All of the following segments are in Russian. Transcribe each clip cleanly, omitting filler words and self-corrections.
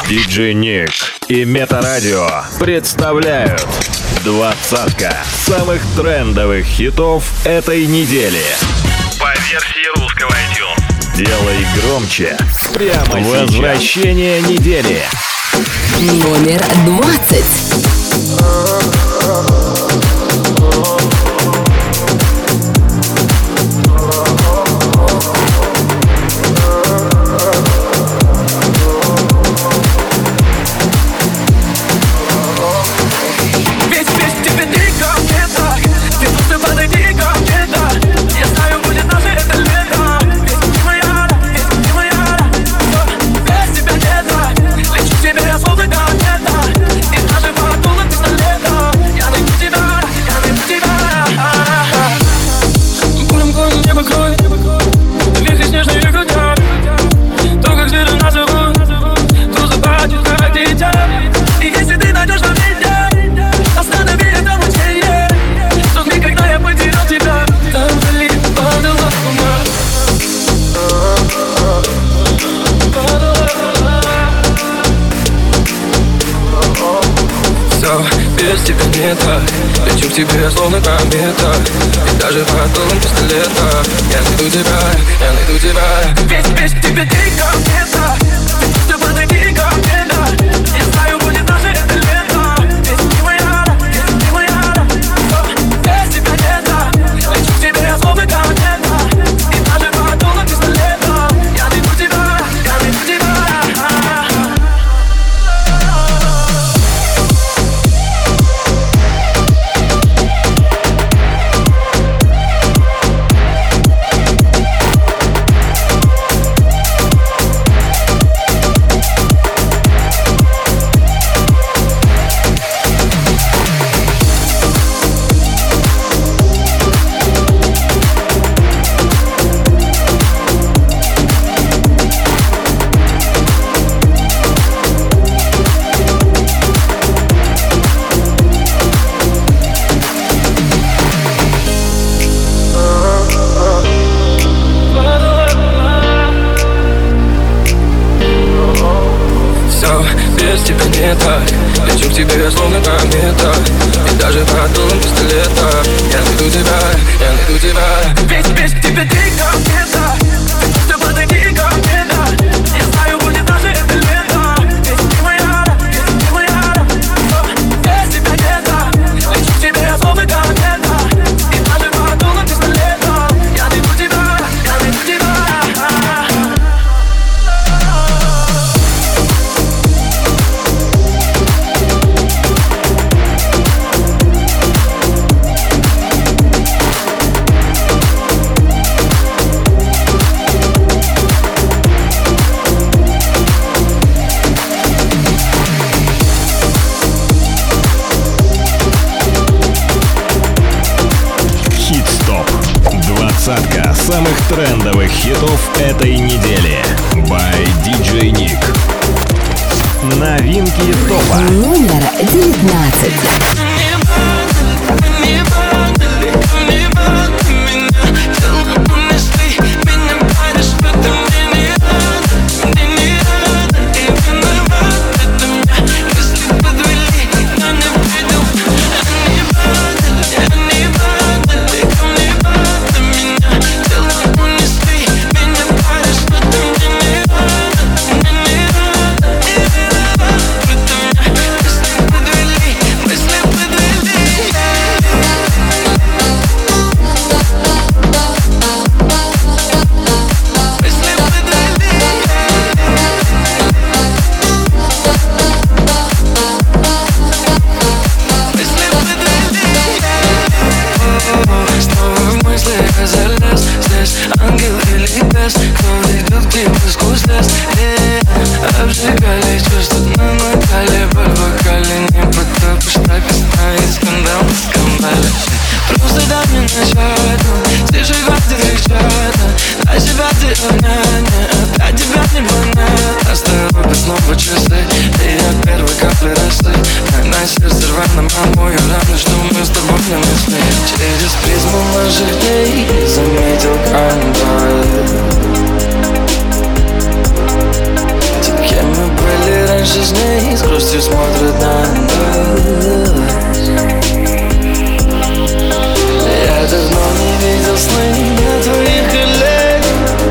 Диджей Ник и Метарадио представляют двадцатка самых трендовых хитов этой недели. По версии русского iTunes. Делай громче прямо сейчас. Возвращение недели. Номер 20. Без тебя не так, лечу к тебе словно комета. И даже под дулом пистолета я найду тебя. Без тебя ты комета. Ты просто подойди ко мне, да. Я знаю, будет наше это лето. Без ты моя. Без тебя не так, лечу к тебе словно комета. И даже под дулом пистолета я найду тебя. Лечу к тебе словно комета. И даже под дулом пистолета я найду тебя. Без тебя ты комета. Ты просто подойди ко мне, да. Я знаю, будет наше это лето. Без ты моя. Без тебя не так, лечу к тебе словно комета. И даже под дулом пистолета я найду тебя. Двадцатка самых трендовых хитов этой недели. By DJ Ник. Новинки топа. Номер 19. Обжигали чувства на накале. Боль в вокале не потопишь, так и знает скандал на скандале. Просто дай мне начать, слышишь, хватит кричать. Для себя ты одна, для тебя не понятно. Оставил снова часы, и от первой капли росы. На сердце рваном омою раны, что мы с тобой не мысли. Через призму наших дней заметил контакт. Кем мы были раньше, наши с ней с грустью смотрят на нас. Я давно не видел сны на твоих коллег.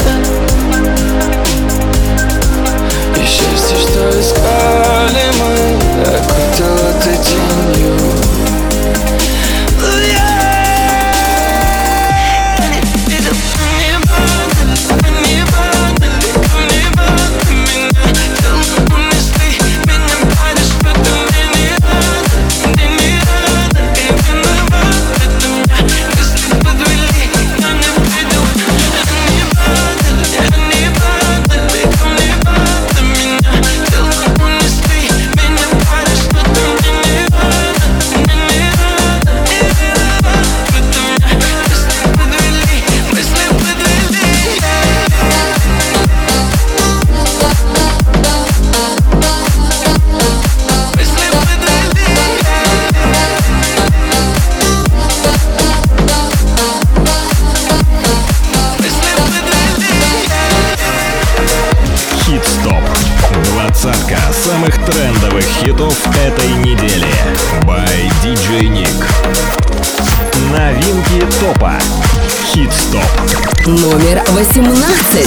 И счастье, что искали мы, окутало ты тенью. Самых трендовых хитов этой недели. By DJ Nick. Новинки топа. Хит-стоп. Номер 18.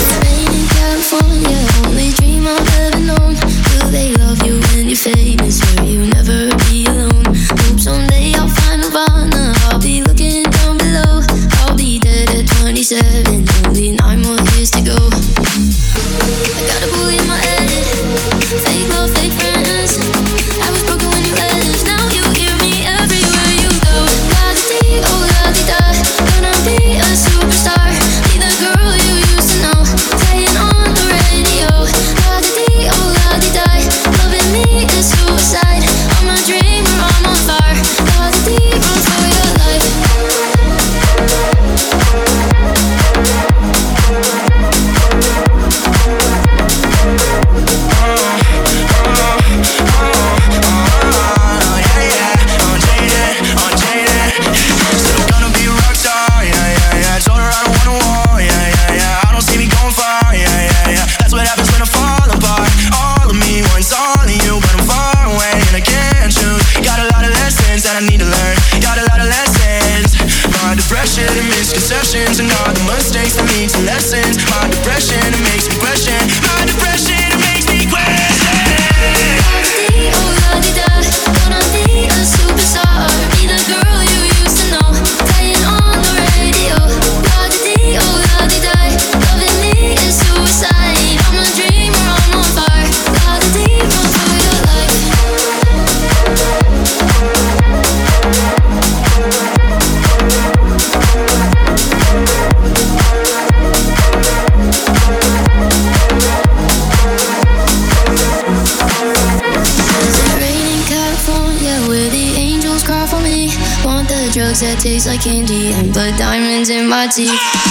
That taste like candy and put diamonds in my teeth.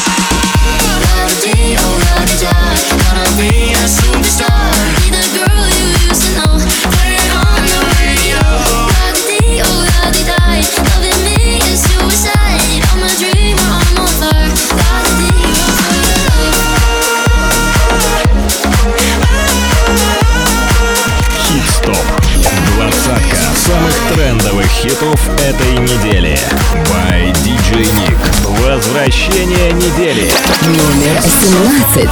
La-da-dee, oh la-da-da, gonna be a superstar. Be the girl you used to know, play it on the radio. La-da-dee, oh la-da-da, loving me is suicide. I'm a dreamer, I'm on fire. La-da-dee, Хит-стоп. Двадцатка самых трендовых хитов этой недели. By DJ Nick. Возвращение недели. Номер 17.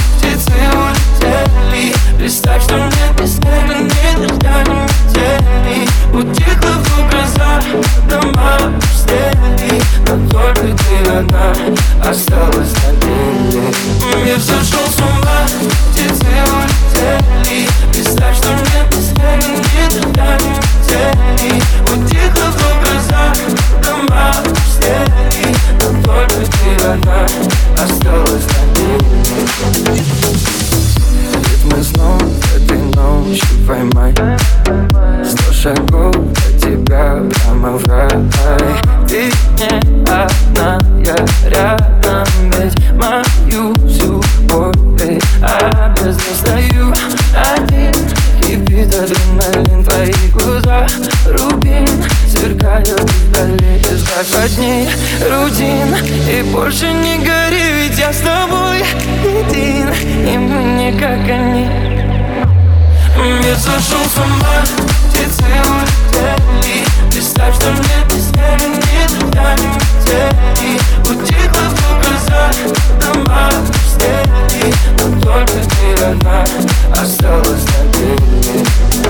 Представь, что мне без тебя никогда не метели. Утихла в глазах, дома пустели. Но только ты одна осталась на деле. Я все шел с ума, птицы улетели. Представь, что мне без тебя никогда не метели. Утихла в глазах, дома пустели. Но только ты одна осталась на деле. Мы снова этой ночью поймай 100 шагов от тебя прямо в рай. Ты не одна, я рядом, ведь мою всю боль обязан стою один. Кипит адреналин, твои глаза рубин сверкают вдали. Избавь от них рутин и больше не гори, ведь я с тобой един, и мы не как они. Мир сошел с ума, птицы улетели. Представь, что мне песнями никогда не метели. Утихла в глазах, дома пустели. Но только ты одна осталась на береге.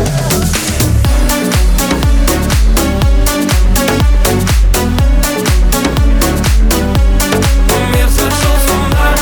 Мир сошел с ума.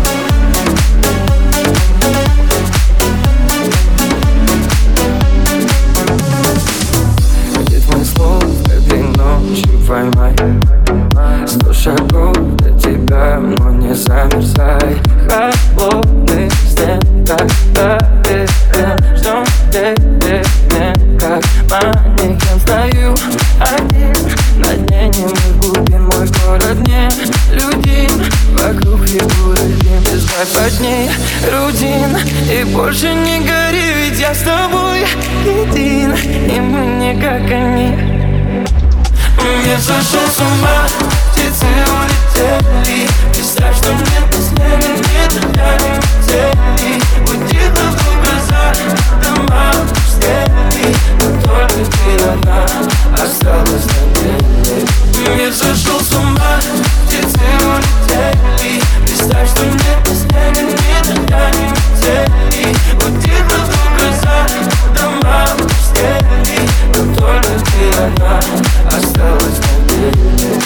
Ритмы слов этой ночи поймай. 100 шагов до тебя, но не замерзай. Холодный стен, когда верен, ждем перемен, как манекен. Стою один на дне немых глубин. Мой город не людин, вокруг фигуры дым. Избавь от ней рутин и больше не гори, ведь я с тобой един, и мы не как они. Мир сошел с ума, птицы улетели. Представь, что мне песнями никогда не метели. Утихла в глазах, дома пустели. Но только ты одна осталась на береге. Мир сошел с ума, птицы улетели. Представь, что мне песнями никогда не метели. Утихла в глазах, дома пустели. Но только ты одна осталась на береге.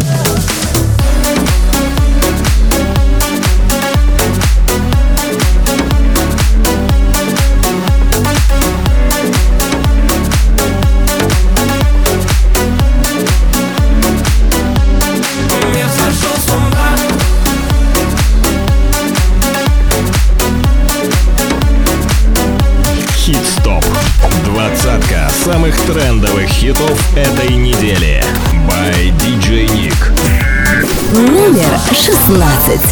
Мир сошел с ума. Хит-стоп. Двадцатка самых трендовых хитов этой недели. By DJ Nick. Номер 16.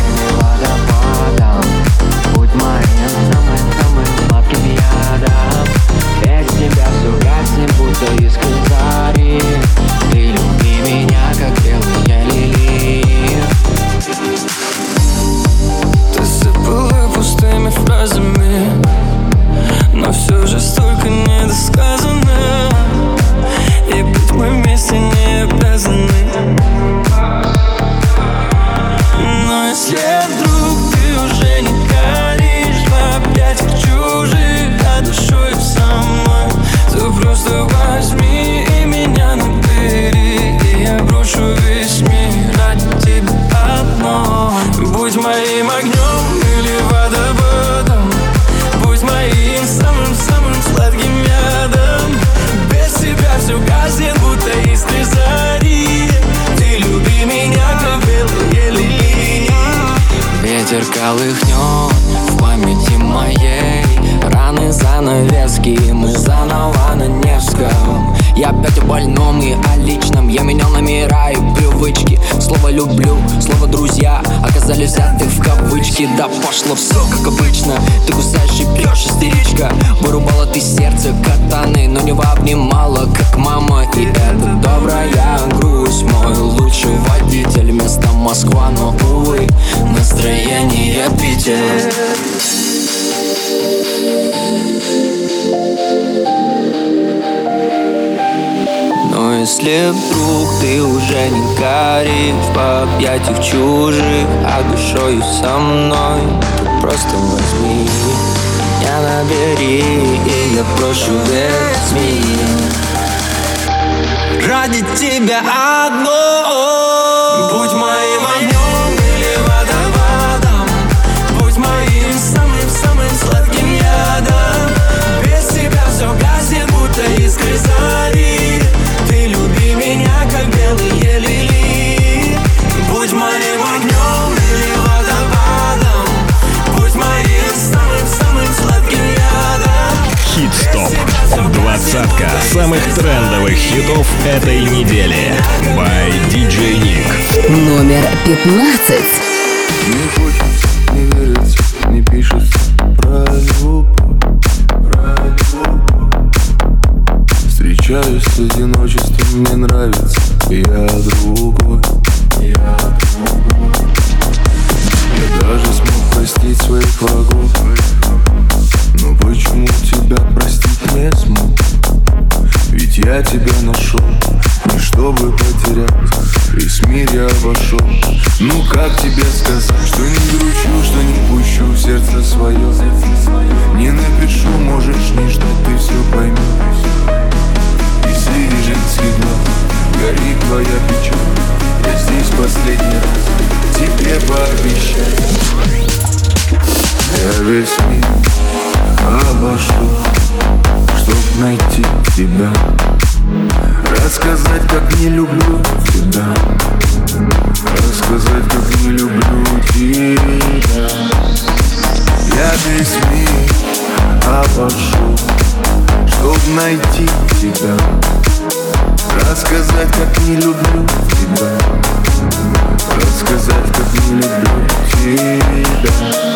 Будь моим самым сладким ядом. Без тебя все гаснет, будто искры зари. Ты люби меня, как белые лилии. Ты забыла пустыми фразами, но все же столько недосказано. И быть мы вместе не обязаны. Но если вдруг ты уже не горишь в объятиях чужих, а душой со мной, то просто возьми и меня набери, и я брошу весь мир ради тебя одной. Будь моим огнем или водопадом, будь моим самым-самым сладким ядом. Без тебя все гаснет, будто искры зари. Ты люби меня, как белые лилии. Ветер колыхнет в памяти моей. Раны, занавески, мы заново на Невском. Я опять о больном и о личном. Я менял номера и привычки. Слово люблю, слово друзья оказались взяты в кавычки. Да пошло все как обычно. Ты кусаешь и бьешь, истеричка. Вырубала ты сердце катаны, но не обнимала, как мама. И это добрая грусть. Мой лучший водитель, место Москва, но увы, настроение Питер. Но если вдруг ты уже не горишь в объятиях чужих, а душою со мной, то просто возьми меня набери, и я брошу весь мир ради тебя одной. Будь моим огнем или водопадом, будь моим самым-самым сладким ядом. Без тебя все гаснет, будто искры зари. Ты люби меня, как белые лилии. Будь моим огнем или водопадом, будь моим самым-самым сладким ядом. Хит-стоп. Двадцатка самых трендовых хитов этой недели. By DJ Nick. Номер 15. Не хочется, не верится, не пишется про любовь. Встречаюсь с одиночеством, мне нравится, я другой. Я даже смог простить своих врагов, но почему тебя простить я тебя нашел, не чтобы потерять, весь мир я обошел. Ну как тебе сказать, что не гручу, что не пущу в сердце свое. Не напишу, можешь не ждать, ты все поймешь. И среди женских глаз горит твоя печаль. Я здесь последний раз тебе пообещаю. Я весь мир обошел, чтоб найти тебя, рассказать, как не люблю тебя, рассказать, как не люблю тебя. Я весь мир обошел, чтоб найти тебя, рассказать, как не люблю тебя, рассказать, как не люблю тебя.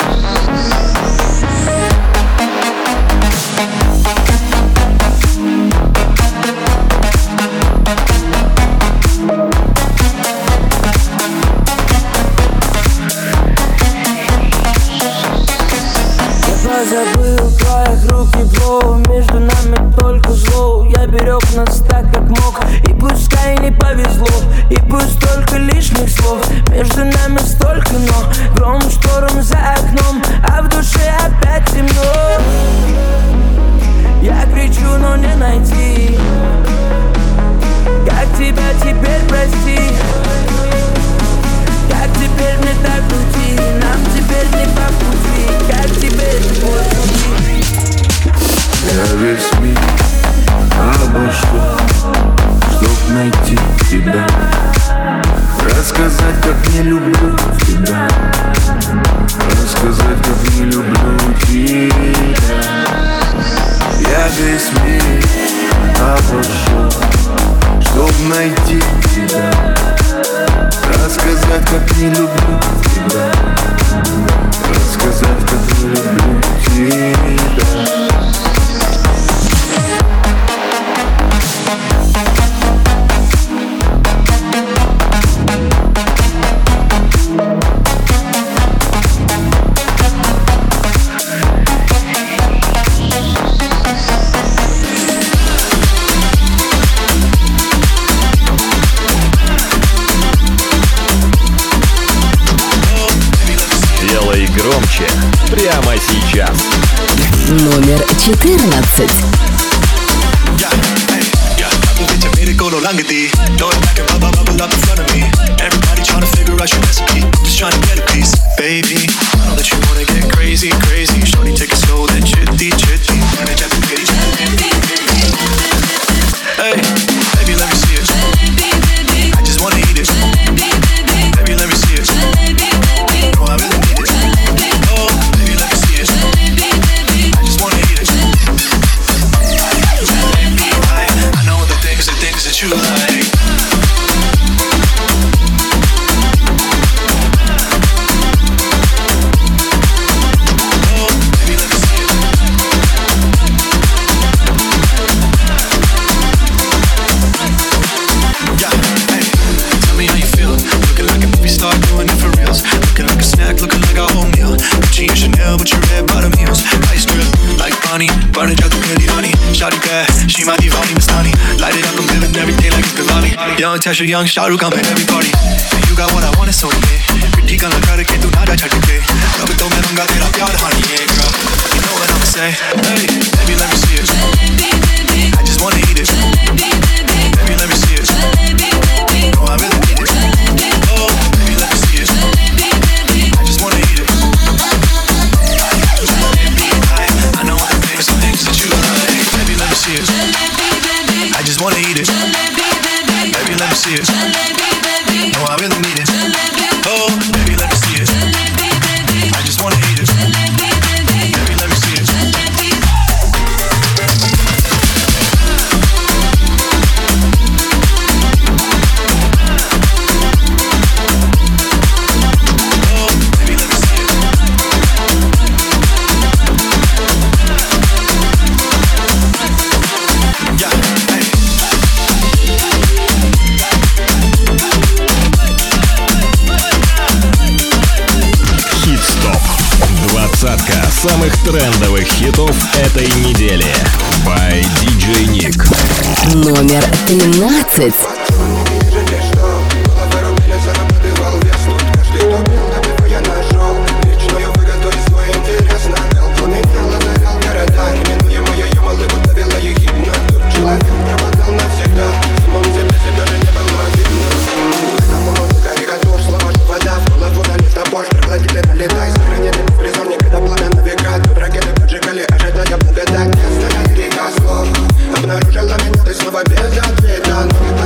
Забыл твоих рук тепло, между нами только зло. Я берег нас так, как мог, и пускай не повезло, и пусть столько лишних слов. Между нами столько, но гром, шторм за окном, а в душе опять темно. Я кричу, но не найти, как тебя теперь простить, как теперь мне так уйти, нам теперь не по пути, как теперь твой пути. Я весь мир обошел, чтоб найти тебя, рассказать, как не люблю тебя, рассказать, как не люблю тебя. Я весь мир обошел, чтоб найти тебя, рассказать, как не люблю тебя, рассказать, как не люблю тебя. Громче прямо сейчас. Номер 14. Young Tasha, young Shah Rukh, I'm at every party. And you got what I want, it's only me. Critique on the crowd, que tu nada chha ke. Rab to main manga tera pyar honey, yeah, girl. You know what I'ma say? Hey, baby, let me see it. I just wanna eat it. Baby, let me see it. No, I really need it. Oh, baby, let me see it. I just wanna eat it. I know all the things that you like. Baby, let me see it. I just wanna eat it. Baby, let me see it. No, I really need it. Oh, baby, let me see it. I just wanna eat it. Baby, let me see it. Yeah, hey. хитов этой недели. By DJ Nick. Номер 13. Обнаружила меня, ты снова без ответа.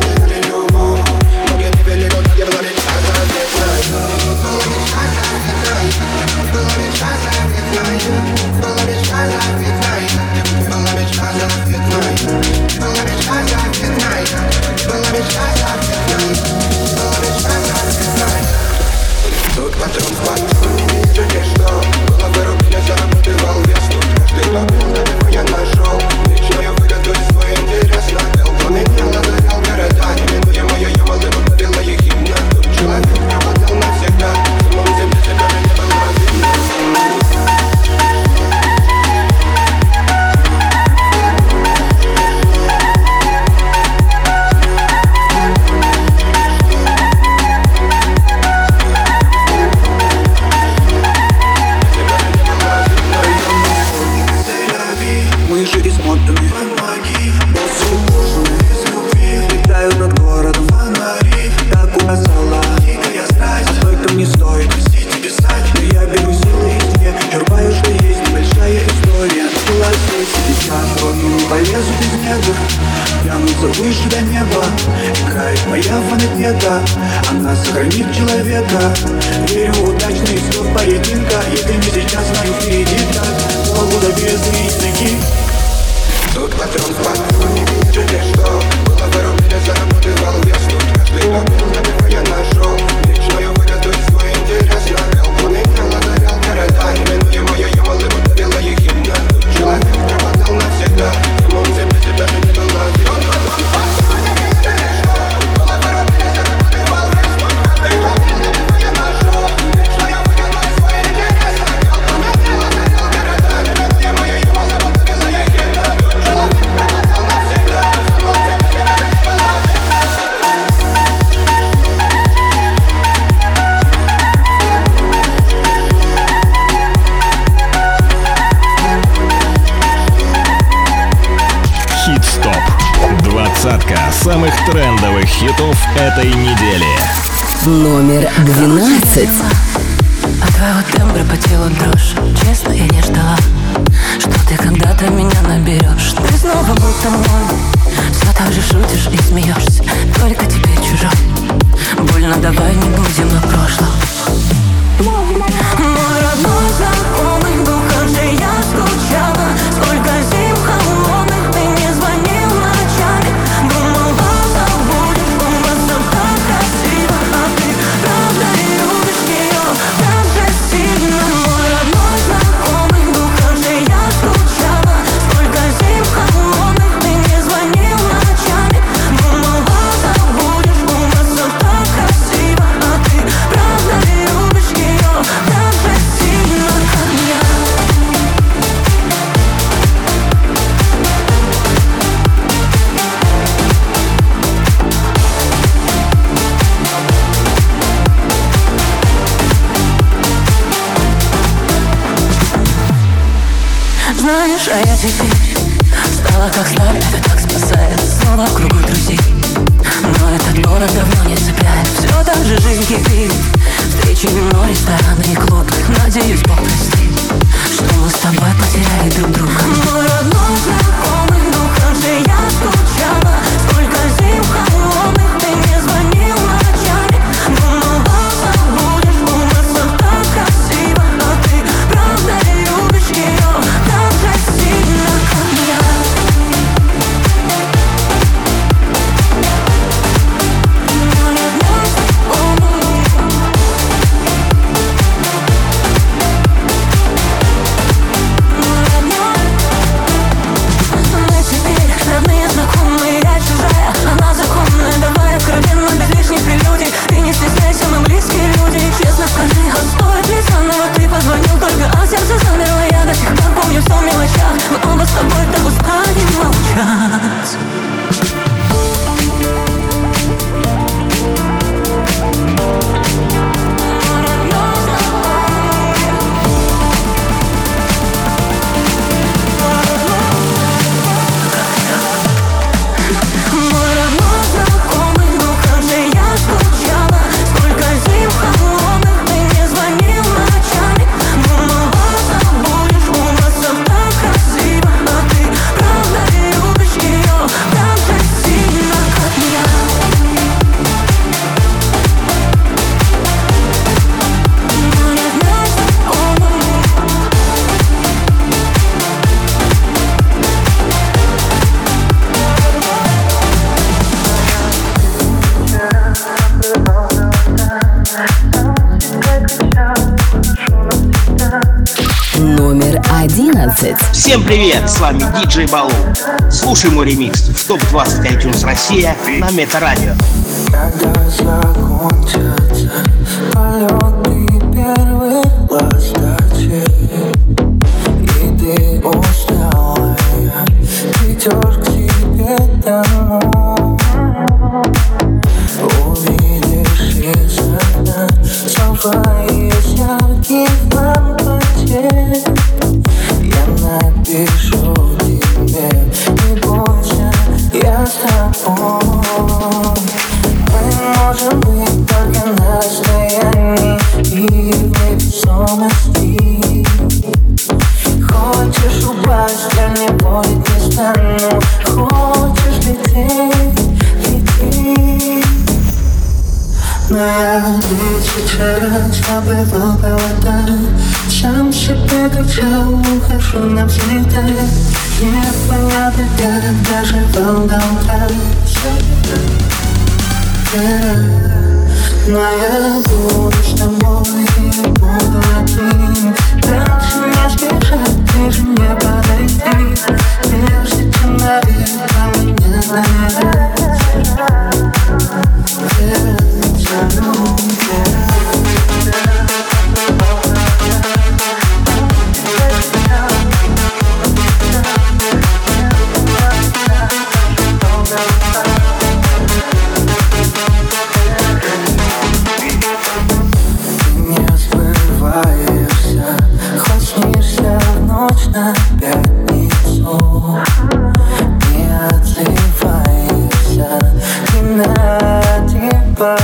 тянутся выше до неба. Играет моя фонотека, она сохранит человека. Верю в удачный исход поединка. Если не сейчас, знаю впереди так. Могу добиться языки. Тут патрон в патроне, видите, что было вырублено, заработал вес. Тут каждый момент, наверное, я нашел вечную выгоду и свой интерес. Навел планету, озарял города. Неминуемое я малым удавила их именно. Тут человек пропадал навсегда. Ему он себе себя же не был один. Двадцатка самых трендовых хитов этой недели. Номер 12. От твоего тембра по телу дрожь. Честно, я не ждала, что ты когда-то меня наберешь. Ты снова будто мой. Все так же шутишь и смеешься. Только тебе чужой. Больно, давай не будем о прошлом. Мой родной знакомый, духом же я скучала. Сколько зим холодных ты не звонил ночами. Думал, вас забудешь, у вас все так красиво. А ты правда любишь ее так же сильно. Мой родной знакомый, духом же я скучала. Сколько зим холодных ты не звонил ночами. Думал, вас забудешь, у вас все так красиво. А ты правда любишь ее так же сильно, как я. Знаешь, а я теперь стала как старт, это так спасает. Снова в кругу друзей, но этот город давно не цепляет. Все так же жизнь кипит, встречи, вино, рестораны и клубы. Надеюсь, Бог простит, что мы с тобой потеряли друг друга. Мой родной знакомый, духом же я скучала. Сколько зим холодных ты не звонил ночами. Думал, вас забудешь, у нас все так красиво. А ты правда любишь ее так же сильно, как я. Мой родной 12. Всем привет, с вами диджей Балу. Слушай мой ремикс в ТОП-20 iTunes Россия на Метарадио. Когда закончатся полеты первых ласточек, и ты усталая, придешь к себе домой, увидишь из окна снова из ярких лампочек. Я напишу тебе, не бойся, я с тобой. Мы можем быть только на расстоянии и в невесомости. Хочешь упасть, я не будет не стану. Хочешь лететь, лети. Но я сейчас забывал провода. Сам себе кричал, ухожу навсегда. Непонятно, как доживал до утра. Но я буду с тобой и буду один. Дальше не спешать, ближе не подойти. Прежде чем наверное меня наверное. На пятницу не отзываешься, и на тебя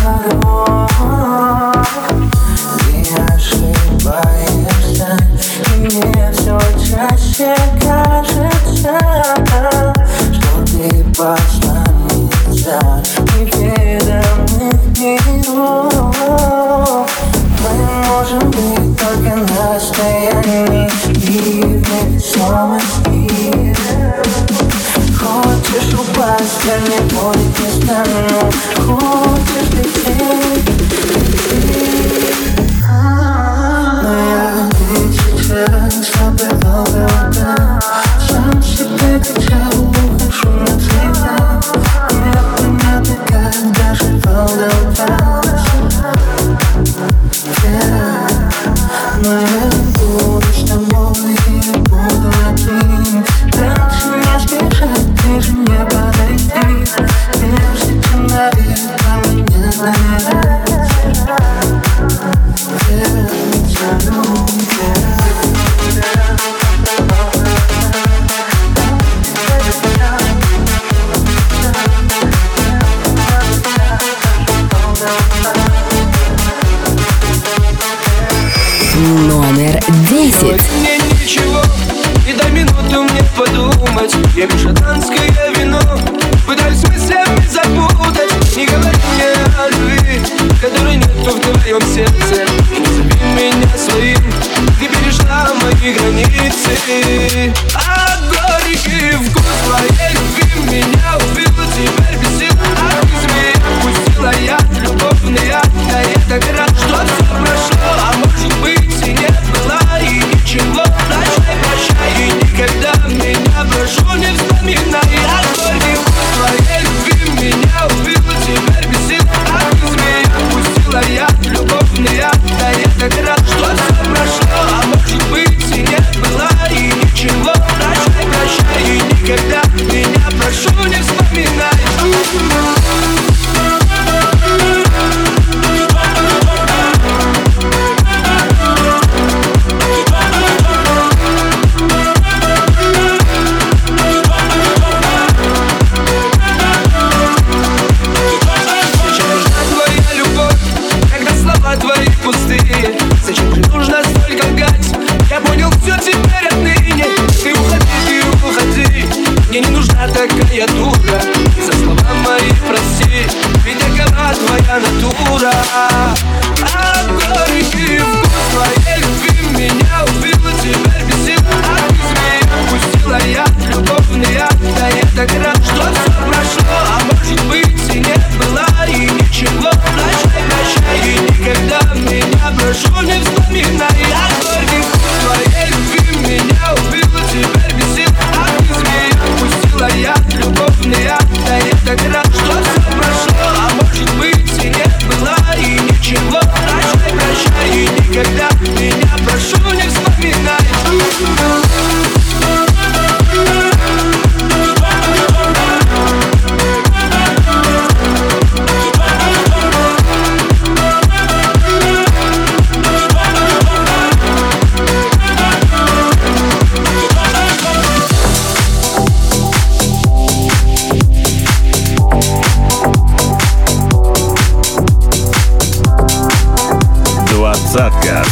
не ошибаешься, и мне все чаще кажется, что ты посланница неведомых миров. Мы можем быть только на расстоянии и в невесомости. Хочешь упасть, я не будет не стану. Хочешь лететь, лети. Но я сейчас забывал провода. Сам себе кричал, ухожу навсегда. Непонятно, как доживал до утра. Но я буду с тобой и буду один. Дальше не спешать, ближе не подойти. Прежде чем наверное меня наверное. Номер 10. Мне ничего, и дай минуту мне подумать. Я пью шотландское вино, пытаюсь мыслями запутать. Не говори мне о любви, которой нету в твоем сердце. Не зови меня своим, ты перешла мои границы. А горький вкус твоей любви меня убил. Теперь без сил, а без меня пустила я любовный яд. Да я так рад, что все прошло, а может быть и не было, и ничего. Прощай, прощай, и никогда меня прошу не вспоминай. А горький вкус твоей любви меня убил. Теперь без сил, а без меня пустила я любовный яд. Да я так рад, что все прошло, а может быть и не было, и ничего. Прощай, прощай, и никогда меня прошу не вспоминай. Зачем же нужно столько лгать? Я понял все теперь отныне. Ты уходи, мне не нужна такая дура. И за слова мои прости, ведь такова твоя натура. А горький вкус твоей любви меня убил. Теперь без сил, а без меня пустила я любовный яд. Да я так рад, что все прошло, а может быть и не было, и ничего. Прощай, прощай, и никогда меня прошу не вспоминай. А горький вкус твоей любви меня убил.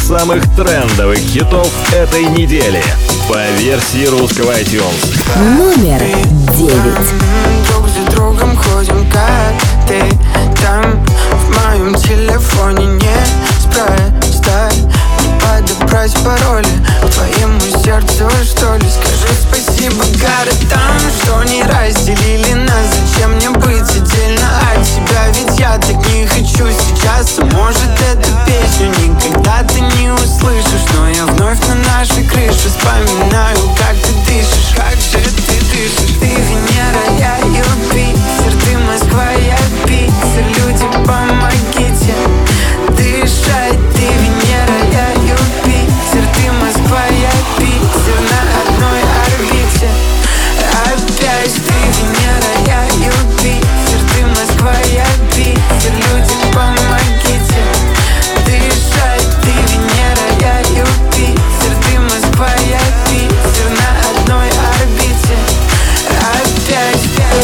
самых трендовых хитов этой недели по версии русского iTunes. Номер 9. Друг за другом ходим, как ты там. В моем телефоне неспроста не подобрать пароли к твоему сердцу, что ли. Скажи спасибо городам, что не разделили нас. Зачем мне быть отдельно от тебя? Ведь я так не хочу сейчас. А может, эту песню никогда ты не услышишь. Но я вновь на нашей крыше вспоминаю, как ты дышишь. Как же ты дышишь? Ты Венера, я Юпитер. Ты Москва, я Питер. Люди, помогите дышать. Ты Венера, я Юпитер. Ты Москва, я Питер. На одной орбите опять. Ты Венера, я Юпитер. Ты Москва, я Питер. Люди, помогите дышать. Ты Венера, я Юпитер. Ты Москва, я Питер. На одной орбите опять.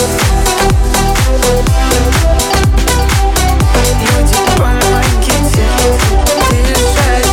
Люди, помогите дышать.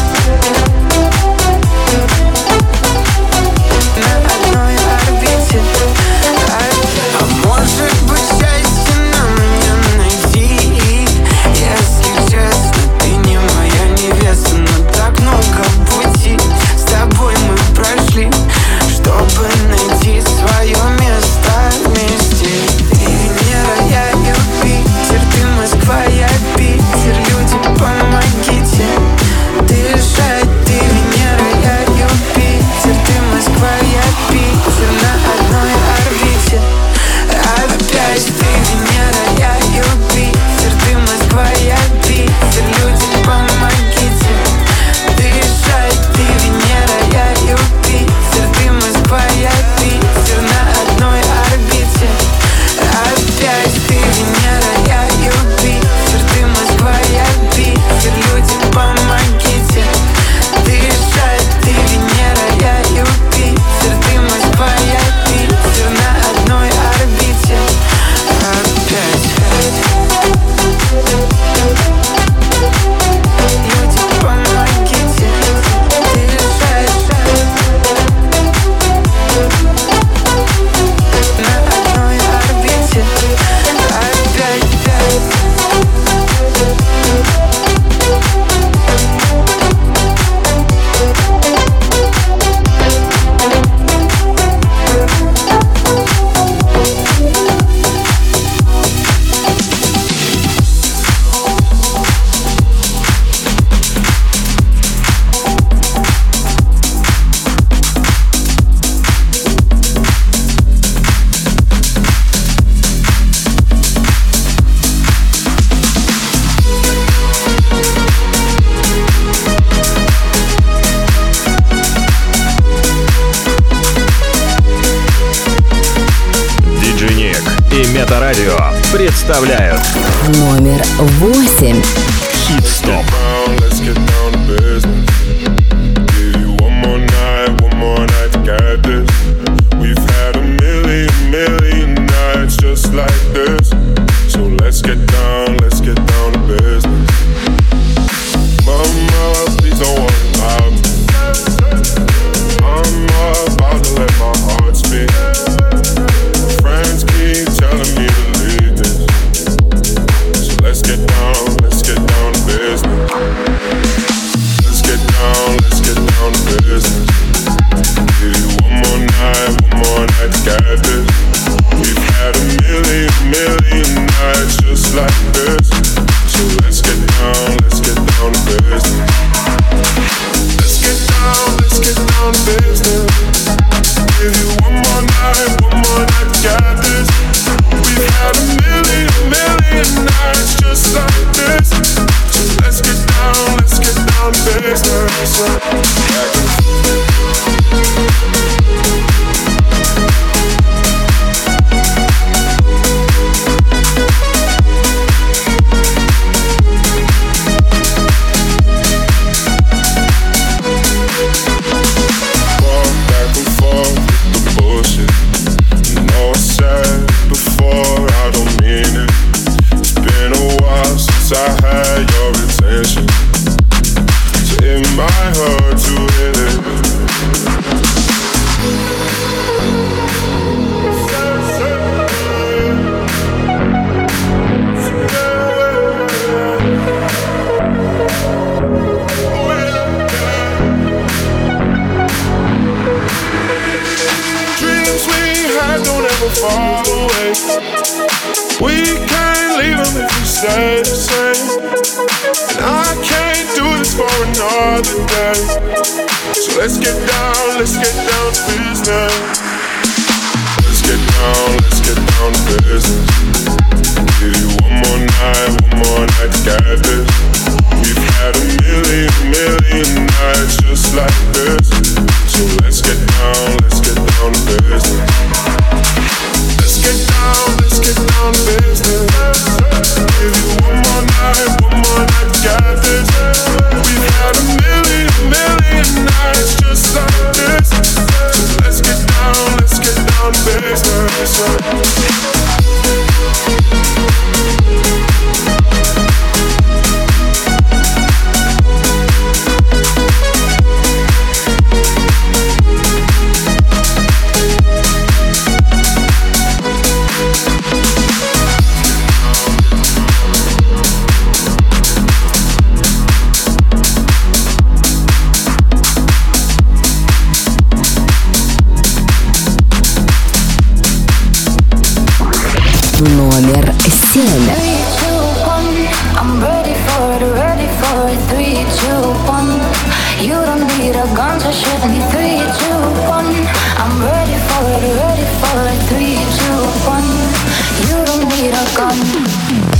На одной орбите. А может быть, счастье нам не найти? Если честно, ты не моя невеста. Но так много пути с тобой мы прошли, чтобы найти свое место вместе. Ты Венера, я Юпитер. Ты Москва, я Питер. Люди, помогите дышать. Ты Венера, я Юпитер. Ты Москва, я Питер. На одной орбите опять. Ты Венера, я Юпитер. Ты Москва, я Питер. Люди, помогите дышать. Ты Венера, я Юпитер. Ты Москва, я Питер. На одной орбите опять. Ты Венера, я Юпитер. Ты Москва, я Питер. Люди, помогите дышать. Ты Венера, я Юпитер. Ты Москва, я Питер. На одной орбите опять. Люди, помогите дышать. На одной орбите опять. Диджей Ник и Метарадио представляют Номер 8. Хит-стоп. Let's get down to business. Give you one more night to get this. We've had a million nights just like this. So let's get down to business. Mama, please don't worry about me. I'm about to let my heart speak. Friends keep telling me to leave this. So let's get down to business. side, don't ever fall away. We can't leave them if we stay the same. And I can't do this for another day. So let's get down to business. Let's get down to business. Give you one more night to get this. We've had a million nights just like this. So let's get down to business. Let's get down to business. Give you one more night to get this. We've had a million nights just like this. So let's get down to business. Номер 7. I'm ready for it, 3, 2, 1. You don't need a gun to shoot me, 3, 2, 1. I'm ready for it, 3, 2, 1. You don't need a gun.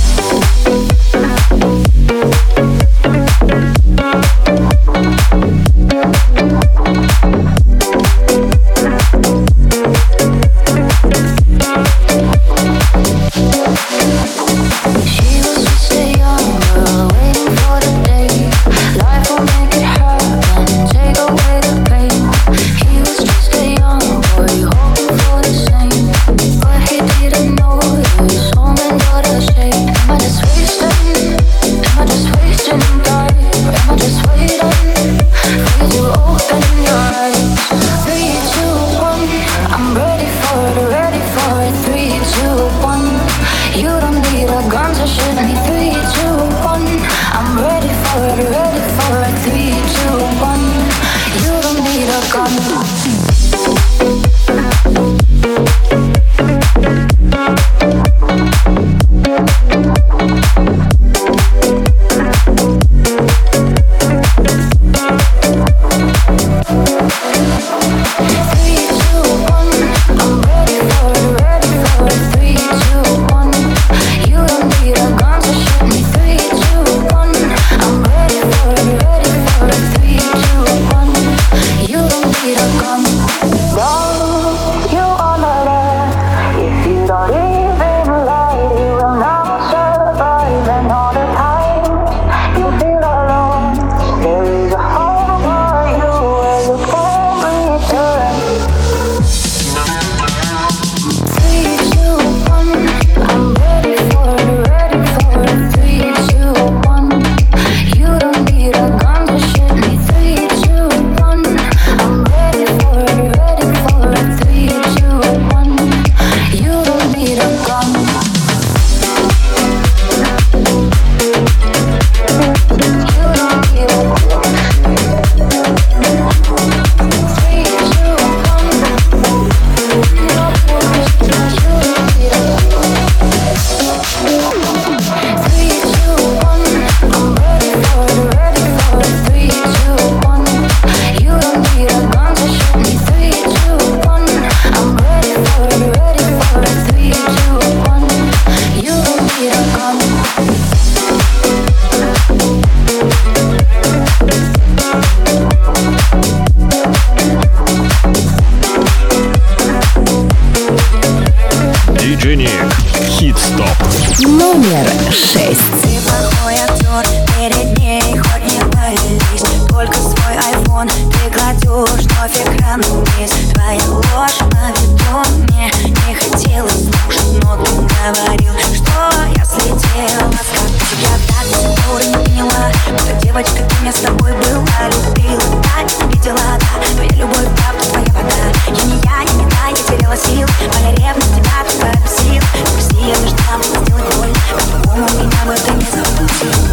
Номер 6. Ты плохой актер, перед ней хоть не пались. Только свой айфон ты кладешь вновь экран вниз. Твоя ложь на виду мне не хотелось слушать, но ты говорил, что я слетела с катушек. Я так до сих пор не поняла, что девочка, ты меня с тобой была, любила, да, видела, да. Твоя любовь, правда, твоя вода. Я не та, я теряла сил. Моя ревность тебя только бесил. Прости, я не ждала, было сделать больно. По-другому меня бы ты не забыл.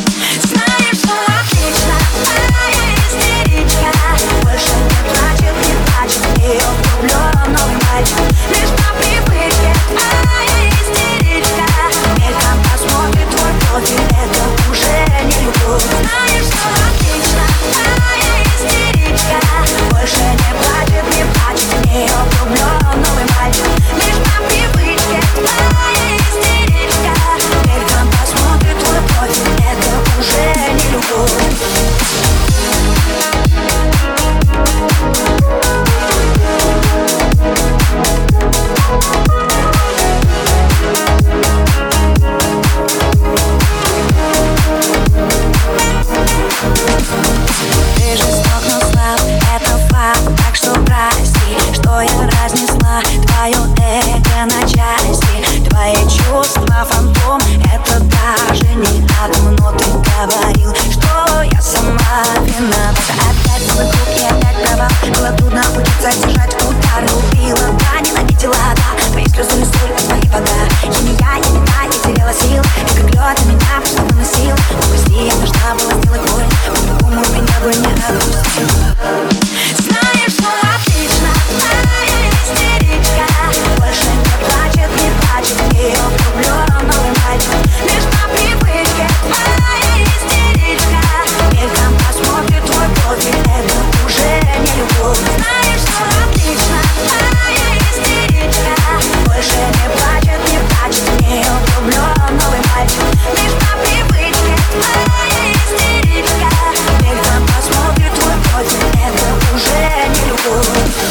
Знаешь, что отлично, моя истеричка. Больше не плачет, не плачет, твое эго на части. Твои чувства фантом, это даже не одно. Ты говорил, что я сама виновата. Опять твой круг и опять провал. Было трудно учиться держать удар. Любила, да, ненавидела, да. Твои слезы и соль, твои вода. Я не я теряла сил. И как лед меня просто выносил. Но прости, я должна была сделать боль. По-другому меня бы не отпустил. Знаешь, что отлично, моя истеричка. Больше не плачет, в нее влюблен новый мальчик. Лишь по привычке, моя истеричка. Мельком посмотрит твой профиль, это уже не любовь. Знаешь, что отлично, моя истеричка. Больше не плачет, в нее влюблен новый мальчик. Лишь по привычке, моя истеричка. Мельком посмотрит твой профиль, это уже не любовь.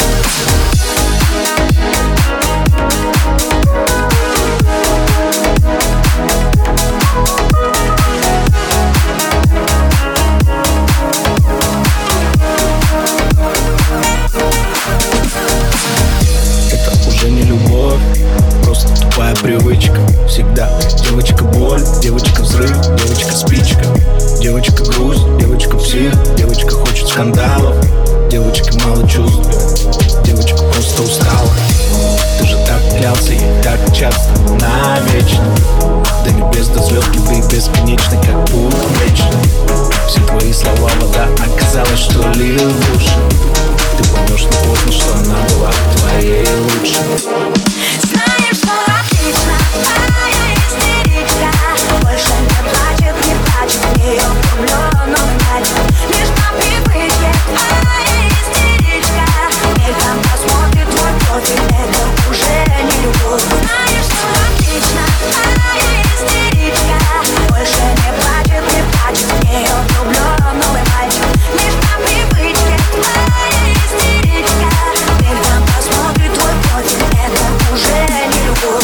Тупая привычка, всегда девочка боль, девочка взрыв, девочка спичка, девочка грусть, девочка псих, девочка хочет скандалов, девочка мало чувств, девочка просто устала. Ты же так клялся ей так часто, навечно. До небес, до звезд, любви бесконечной, как путь вечный. Все твои слова вода, оказалось, что лил в уши. Ты поймешь не поздно, что она была твоей лучшей. Знаешь, что отлично, моя истеричка. Больше не плачет, в нее влюблен новый мальчик. Лишь по привычке, моя истеричка. Мельком посмотрит твой профиль, это уже не любовь. Знаешь, что отлично, моя истеричка. Больше не плачет, в нее влюблен новый мальчик. Лишь по привычке, моя истеричка. Мельком посмотрит твой профиль, это уже не любовь.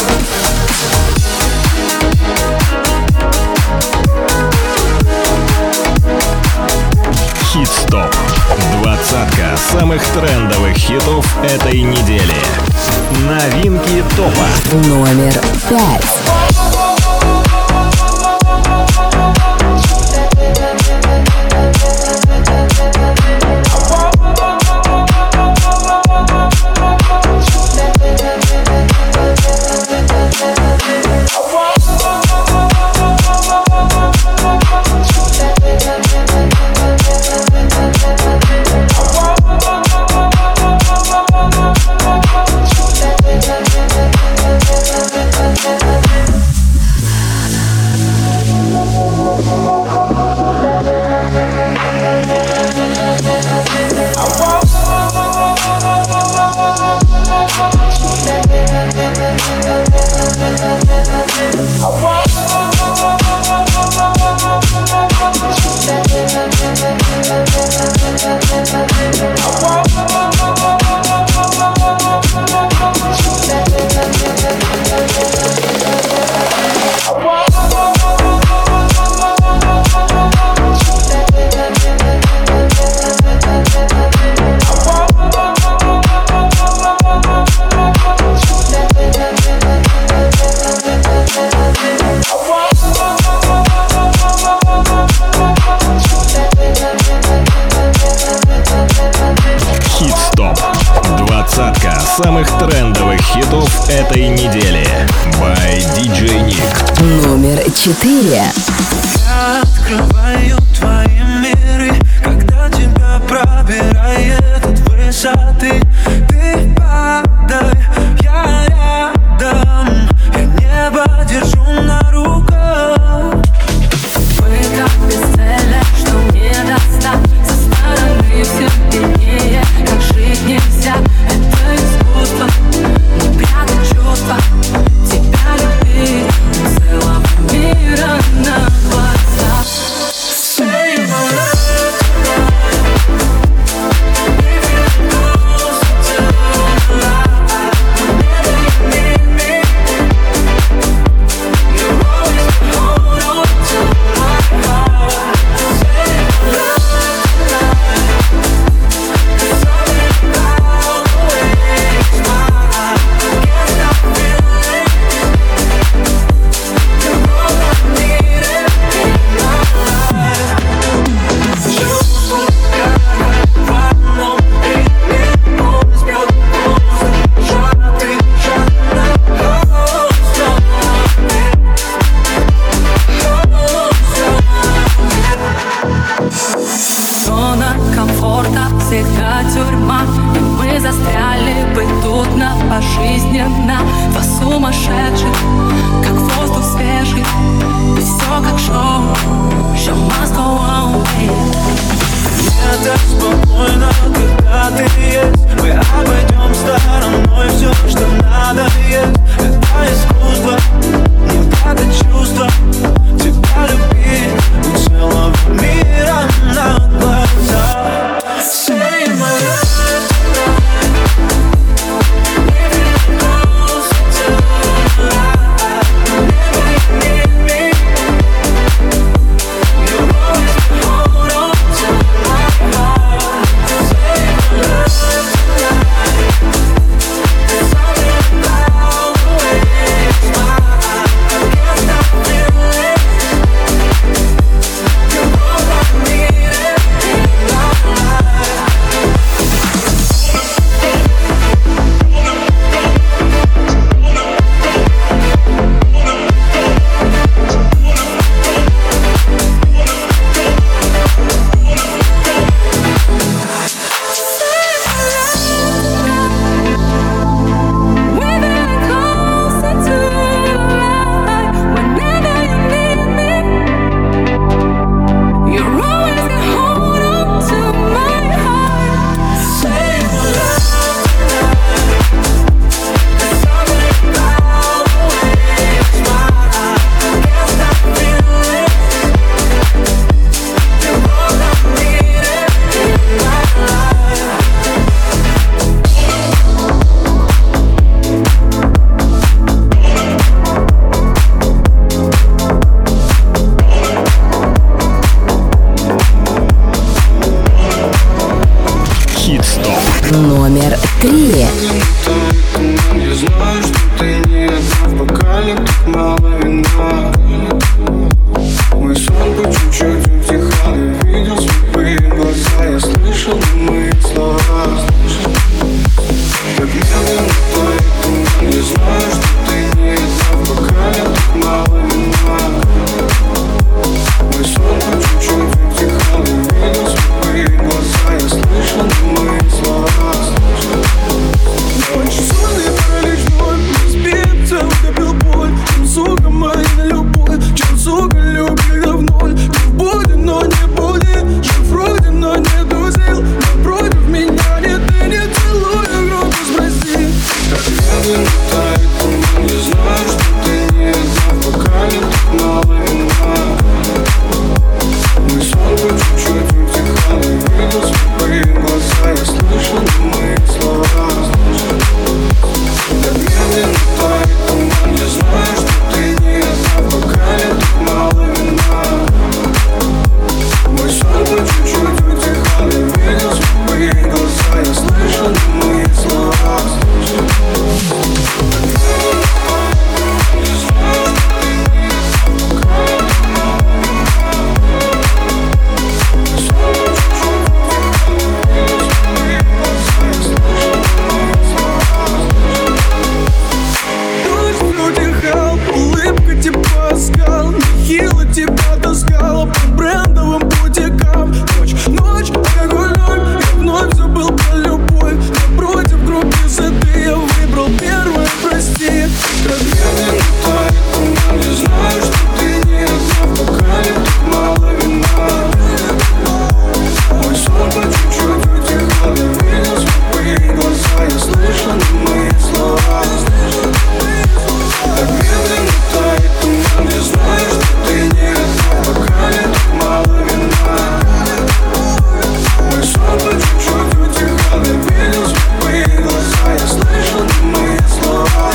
Хит-стоп. Двадцатка самых трендовых хитов этой недели. Новинки топа. Номер 5. самых трендовых хитов этой недели. By DJ Nick. Номер 4. Я открываю твои миры, когда тебя пробирает от высоты. Ты падай, я рядом, я небо держу на руках. Мы так бесцельны, что не достать. Со стороны все виднее, как жить нельзя. Это искусство, не прятать чувства. Тебя любить целого мира на глазах. Say my love, if you're close to life. пожизненно. Два сумасшедших, как воздух свежий, и все как шоу. Show must go on, baby. Мне так спокойно, когда ты есть. Мы обойдем стороной все, что надо есть. Это искусство, не надо чувства. Тебя любить у целого мира на глазах. Say my love. Номер 3. Я знаю, что ты не одна в бокале, так мало вина. Мой сон по чуть-чуть утихал, я видел слепые глаза, я слышал немые слова. Как медленно тает туман, я знаю, что ты не одна в бокале, так мало вина. Мой сон по чуть-чуть утихал, я видел слепые глаза, я слышал немые слова. Сонный паралич вновь разбится, утопил боль. Чем, сука, моя любовь, чем, сука, любви в ноль. Ты в боди, но не буди, жив вроде, но не дузил. Напротив меня нет, ты не целуй, громко спроси. Как медленно тает туман, я знаю, что ты не одна в бокале, так мало вина. Мой сон по чуть-чуть утихал, я видел слепые глаза, я слышал немые слова. Так медленно тает туман, я знаю, что ты не одна в бокале, так мало вина. Мой сон по чуть-чуть утихал, я видел слепые глаза, я слышал немые слова. Нехило тебя таскала по брендовым бутикам. Ночь, алкоголь, я вновь забыл про любовь. Напротив группы ZD я выбрал первое, прости. Как медленно тает туман, я знаю, что ты не одна в бокале, так мало вина. Мой сон по чуть-чуть утихал, я видел слепые глаза, я слышал немые слова. Так медленно тает туман, я знаю, что ты не одна в бокале, так мало вина. Мой сон по чуть-чуть утихал, я видел слепые глаза, я слышал немые слова.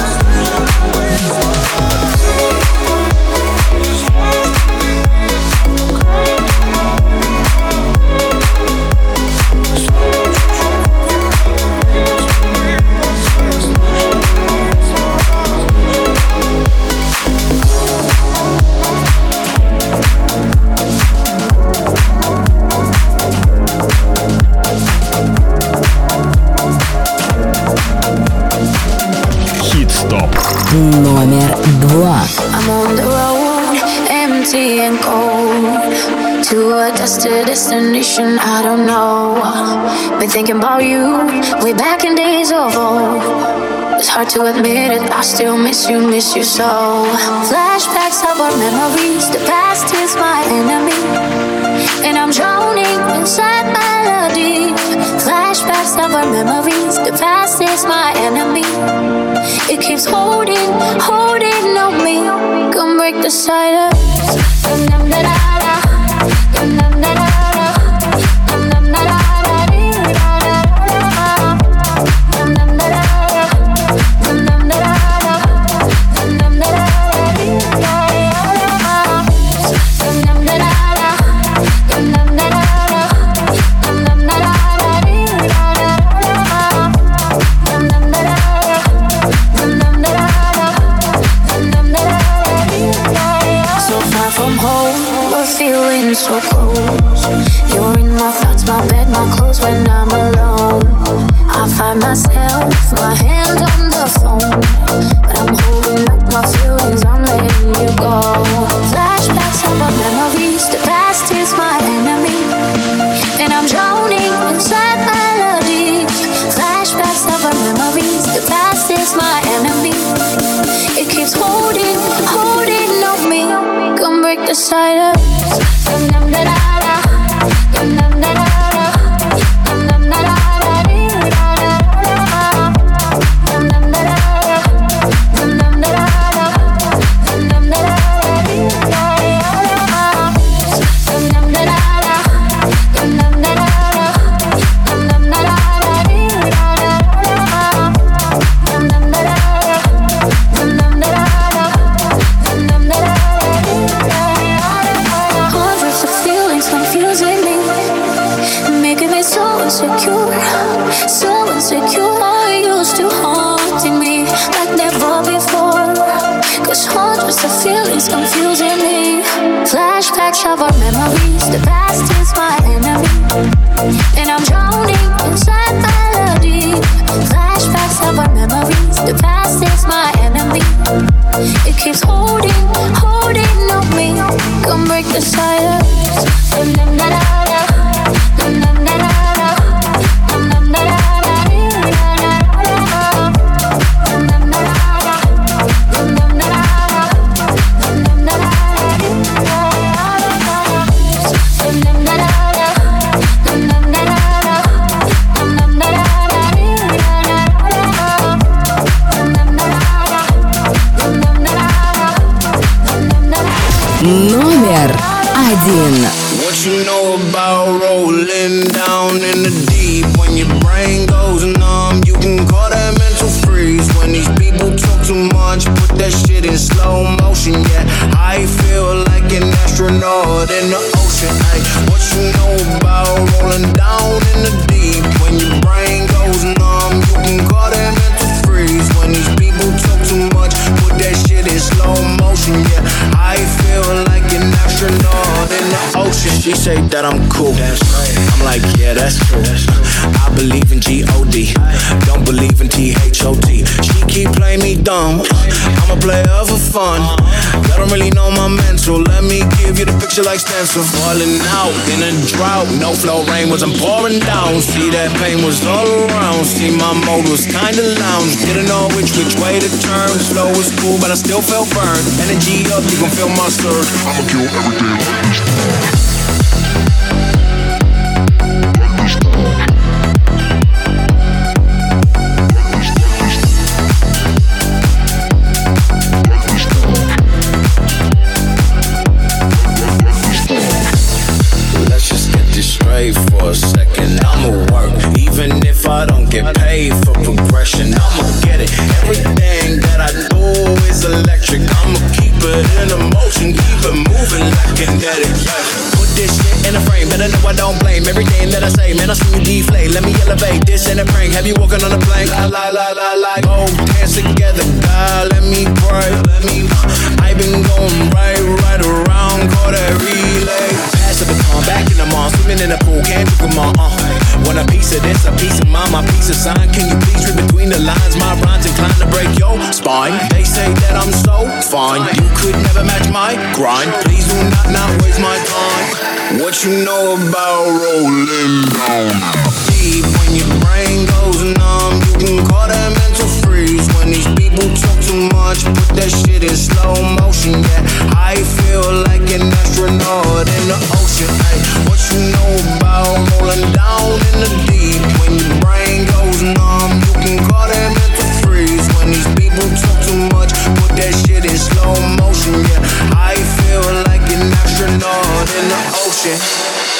Номер 2. I'm on the road and empty and cold. To a destination I don't know. Been thinking about you way back in days of old. It's hard to admit it, I still miss you so. Flashbacks of our memories, the past is my enemy, and I'm drowning inside melody. Flashbacks of our memories, the past is my enemy. It keeps holding on me. Come break the silence. So close, you're in my thoughts, my bed, my clothes when I'm alone. I find myself, my hand on the phone, but I'm holding back my feelings, I'm letting you go. Flashbacks of our memories, the past is my enemy, and I'm drowning inside melodies. Flashbacks of our memories, the past is my enemy. It keeps holding on me. Come break the silence. Confusing me. Flashbacks of our memories, the past is my enemy, and I'm drowning inside melody. Flashbacks of our memories, the past is my enemy. It keeps holding on me. Come break the silence. Номер один. What you know about rolling down in the deep? When your brain goes numb, you can call that mental freeze. When these people talk too much, put that shit in slow motion. Yeah, I feel like an astronaut in the ocean. Ay, what you know about rolling down in the deep? When your brain goes numb, you can call that mental freeze. When these people talk too much, put that shit in slow motion. Yeah, I feel like an astronaut in the ocean. She say that I'm cool. That's right. I'm like, yeah, that's true. I believe in G-O-D. Don't believe in T-H-O-T. She keep playing me dumb. I'm a player for fun. Y'all don't really know my mental. Let me give you the picture like stencil. Falling out in a drought. No flow rain was I'm pouring down. See that pain was all around. See my mode was kinda lounge. Didn't know which way to turn. Flow was cool, but I still felt burned. Energy up, you gon' feel my surge. I'ma kill everything like this. For a second, I'ma work. Even if I don't get paid for progression, I'ma get it. Everything that I do is electric. I'ma keep it in motion, keep it moving like kinetic. Put this shit in a frame, better know I don't blame everything that I say. Man, I see you deflate. Let me elevate this in a prank. Have you walking on a plane? La. Oh, dance together, God, let me pray. I've been going right around, call that relay. Pass the baton, back in the mall, swimming in the pool, can't do them all. Want a piece of this, a peace of mind, my peace of sign. Can you please read between the lines? My rhymes inclined to break your spine. They say that I'm so fine, you could never match my grind. Please do not waste my time. What you know about rolling down deep? When your brain goes numb, you can call that mental freeze. When these people talk too much, put that shit in slow motion. Yeah, I feel like an astronaut in the ocean. Ay, what you know about rolling down in the deep? When your brain goes numb, you can call that mental freeze. When these people talk too much, put that shit in slow motion. Yeah, I feel like an astronaut in the ocean.